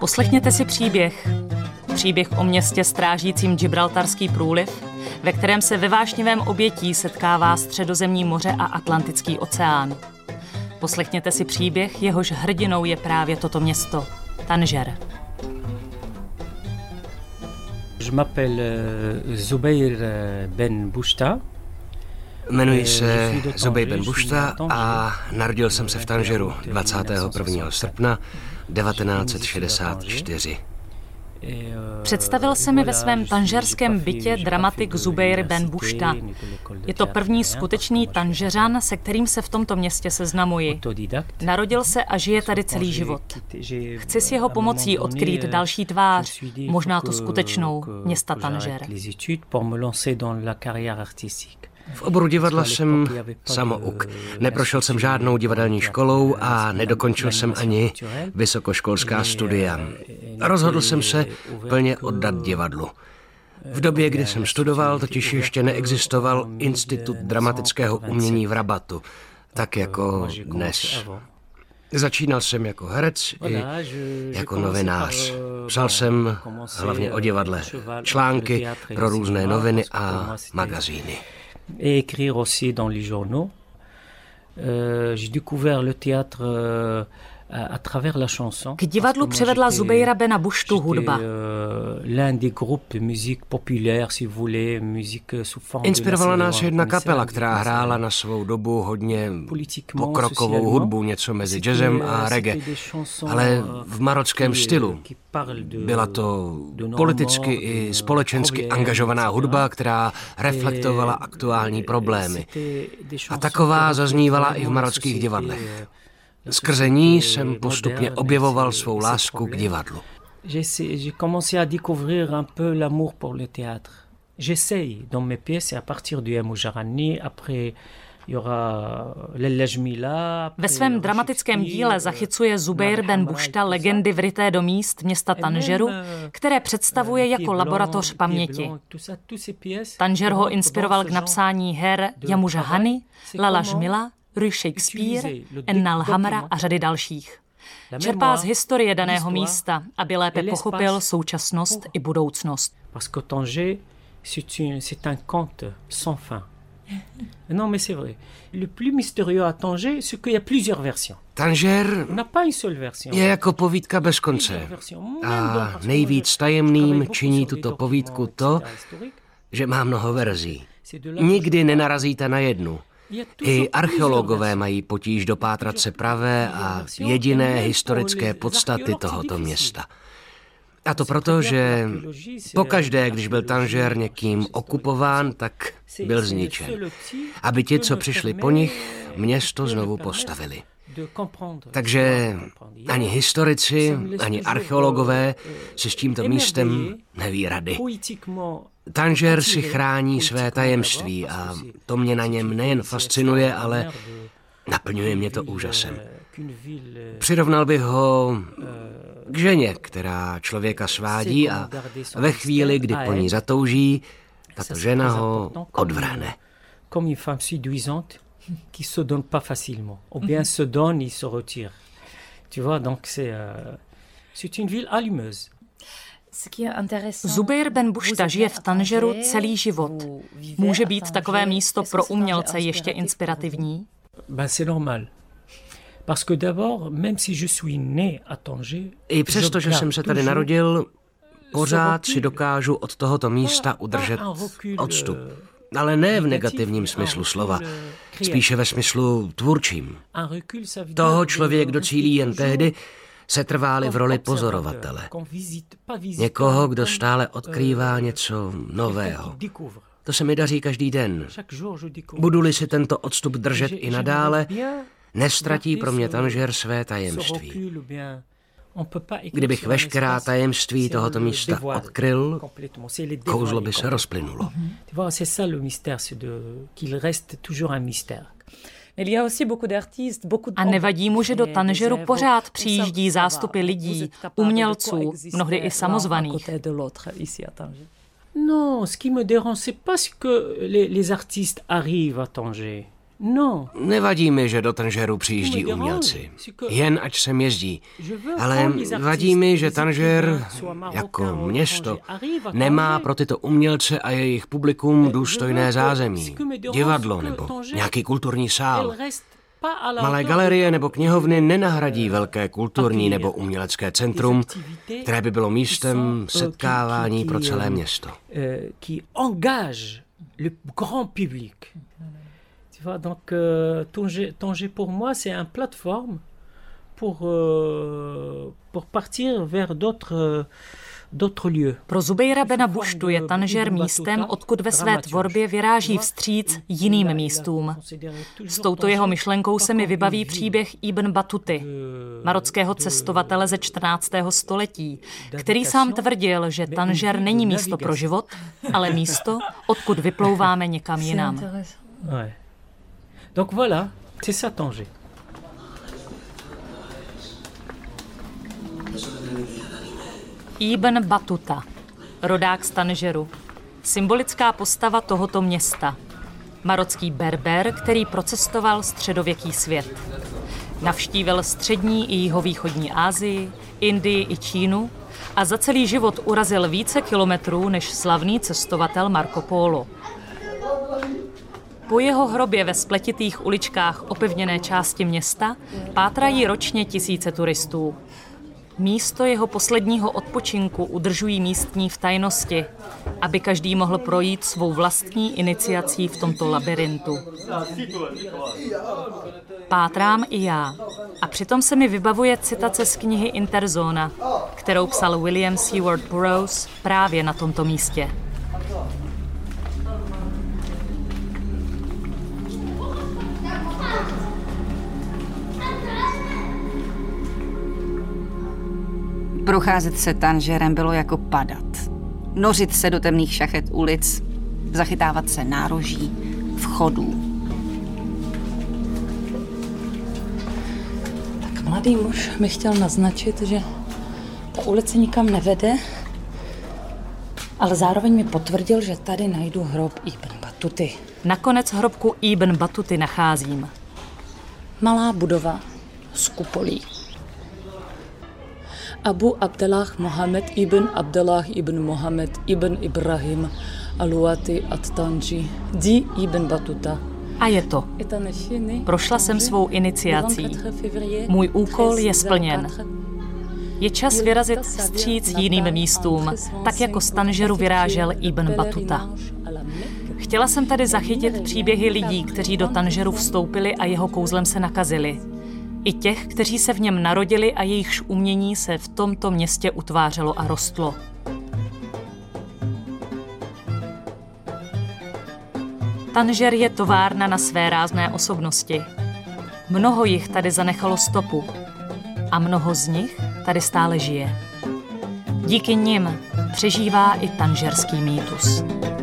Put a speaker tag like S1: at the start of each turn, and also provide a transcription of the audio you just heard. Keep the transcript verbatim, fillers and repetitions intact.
S1: Poslechněte si příběh. Příběh o městě strážícím Gibraltarský průliv, ve kterém se ve vášnivém obětí setkává Středozemní moře a Atlantický oceán. Poslechněte si příběh, jehož hrdinou je právě toto město, Tanger.
S2: Je m'appelle Zubair Ben Bouchta.
S3: Jmenuji se Zubair Ben Bouchta a narodil jsem se v Tangeru dvacátého prvního srpna devatenáct set šedesát čtyři.
S1: Představil se mi ve svém tanžerském bytě dramatik Zubair Ben Bouchta. Je to první skutečný Tanžeřan, se kterým se v tomto městě seznamuji. Narodil se a žije tady celý život. Chci s jeho pomocí odkrýt další tvář, možná tu skutečnou, města Tanger.
S3: V oboru divadla jsem samouk. Neprošel jsem žádnou divadelní školou a nedokončil jsem ani vysokoškolská studia. Rozhodl jsem se plně oddat divadlu. V době, kdy jsem studoval, totiž ještě neexistoval Institut dramatického umění v Rabatu, tak jako dnes. Začínal jsem jako herec i jako novinář. Psal jsem hlavně o divadle, články pro různé noviny a magazíny.
S2: Et écrire aussi dans les journaux. Euh, j'ai découvert le théâtre euh, à travers la chanson.
S1: K divadlu přivedla Zubaira Bena Bouchtu hudba.
S2: L'un des groupes musique populaire, si vous voulez, musique sous forme.
S3: Inspirovala nás jedna kapela, která hrála na svou dobu hodně pokrokovou hudbu, něco mezi jazzem a reggae, ale v marockém stylu. Byla to politicky i společensky angažovaná hudba, která reflektovala aktuální problémy. A taková zaznívala i v marockých divadlech. Skrze ní jsem postupně objevoval svou lásku k divadlu.
S2: J'ai commencé à découvrir un peu l'amour pour le théâtre. J'essaye dans mes pièces à partir du Moujarani, après
S1: Ve svém dramatickém díle zachycuje Zubair Ben Bouchta legendy vryté do míst města Tangeru, které představuje jako laboratoř paměti. Tanger ho inspiroval k napsání her Ya Moujarani, Lala Jmila, Rue Shakespeare, Ennal Hamra a řady dalších. Čerpá z historie daného místa, aby lépe pochopil současnost i budoucnost.
S2: Parce que Tanger, c'est un conte sans fin. Non, mais c'est vrai. Le plus mystérieux à Tanger, c'est qu'il y a plusieurs versions.
S3: Tanger je jako povídka bez konce. A nejvíc tajemným činí tuto povídku to, že má mnoho verzí. Nikdy nenarazíte na jednu. I archeologové mají potíž dopátrat se pravé a jediné historické podstaty tohoto města. A to proto, že pokaždé, když byl Tanger někým okupován, tak byl zničen. Aby ti, co přišli po nich, město znovu postavili. Takže ani historici, ani archeologové si s tímto místem neví rady. Tanger si chrání své tajemství a to mě na něm nejen fascinuje, ale naplňuje mě to úžasem. Přirovnal bych ho k ženě, která člověka svádí a ve chvíli, kdy po ní zatouží, tato žena ho odvrhne.
S2: Comme une femme séduisante qui se donne pas facilement, ou bien se donne, il se retire. Tu vois, donc c'est c'est une ville allumeuse.
S1: Zubair Ben Bouchta žije v Tangeru celý život. Může být takové místo pro umělce ještě inspirativní?
S2: Ben c'est normal. Parce que d'abord, même si je suis né à Tanger,
S3: I přesto, že jsem se tady narodil, pořád si dokážu od tohoto místa udržet odstup. Ale ne v negativním smyslu slova, spíše ve smyslu tvůrčím. Toho člověk docílí jen tehdy, se trváli v roli pozorovatele. Někoho, kdo stále odkrývá něco nového. To se mi daří každý den. Budu-li si tento odstup držet i nadále, nestratí pro mě Tanger své tajemství. Kdybych veškerá tajemství tohoto místa odkryl, kouzlo by se rozplynulo.
S1: A nevadí mu, že do Tangeru pořád přijíždí zástupy lidí, umělců, mnohdy i samozvaných.
S2: Non, ce qui me dérange, c'est pas que les, les artistes arrivent à Tanger. No.
S3: Nevadí mi, že do Tanžéru přijíždí umělci. Jen ať sem jezdí. Ale vadí mi, že Tanžér, jako město, nemá pro tyto umělce a jejich publikum důstojné zázemí. Divadlo nebo nějaký kulturní sál. Malé galerie nebo knihovny nenahradí velké kulturní nebo umělecké centrum, které by bylo místem setkávání pro celé město.
S2: Le grand public. Tu vois, donc euh, Tanger, Tanger pour moi c'est une plateforme pour euh, pour partir vers d'autres d'autres lieux.
S1: Pro Zubeira Bena Buštu je Tanžer místem, odkud ve své tvorbě vyráží vstříc jiným místům. S touto jeho myšlenkou se mi vybaví příběh Ibn Batuty, marockého cestovatele ze čtrnáctého století, který sám tvrdil, že Tanžer není místo pro život, ale místo, odkud vyplouváme někam jinam.
S2: Donc voilà, c'est ça Tanger.
S1: Ibn Batuta, rodák z Tanžeru, symbolická postava tohoto města. Marocký Berber, který procestoval středověký svět. Navštívil střední i jihovýchodní Asii, Indii i Čínu a za celý život urazil více kilometrů než slavný cestovatel Marco Polo. Po jeho hrobě ve spletitých uličkách opevněné části města pátrají ročně tisíce turistů. Místo jeho posledního odpočinku udržují místní v tajnosti, aby každý mohl projít svou vlastní iniciací v tomto labirintu. Pátrám i já. A přitom se mi vybavuje citace z knihy Interzona, kterou psal William Seward Burroughs právě na tomto místě.
S4: Procházet se Tanžerem bylo jako padat. Nořit se do temných šachet ulic, zachytávat se nároží, vchodů.
S5: Tak mladý muž mi chtěl naznačit, že ta ulice nikam nevede, ale zároveň mi potvrdil, že tady najdu hrob Ibn Batuty.
S1: Nakonec hrobku Ibn Batuty nacházím.
S5: Malá budova z kupolí. Abu Abdallah Mohamed ibn Abdallah ibn Mohamed ibn Ibrahim Aluati at-Tanji di Ibn Batuta.
S1: A je to. Prošla jsem svou iniciací. Můj úkol je splněn. Je čas vyrazit vstříc jiným místům, tak jako z Tanžeru vyrážel Ibn Batuta. Chtěla jsem tady zachytit příběhy lidí, kteří do Tanžeru vstoupili a jeho kouzlem se nakazili. I těch, kteří se v něm narodili a jejichž umění se v tomto městě utvářelo a rostlo. Tanžer je továrna na své rázné osobnosti. Mnoho jich tady zanechalo stopu a mnoho z nich tady stále žije. Díky nim přežívá i tanžerský mýtus.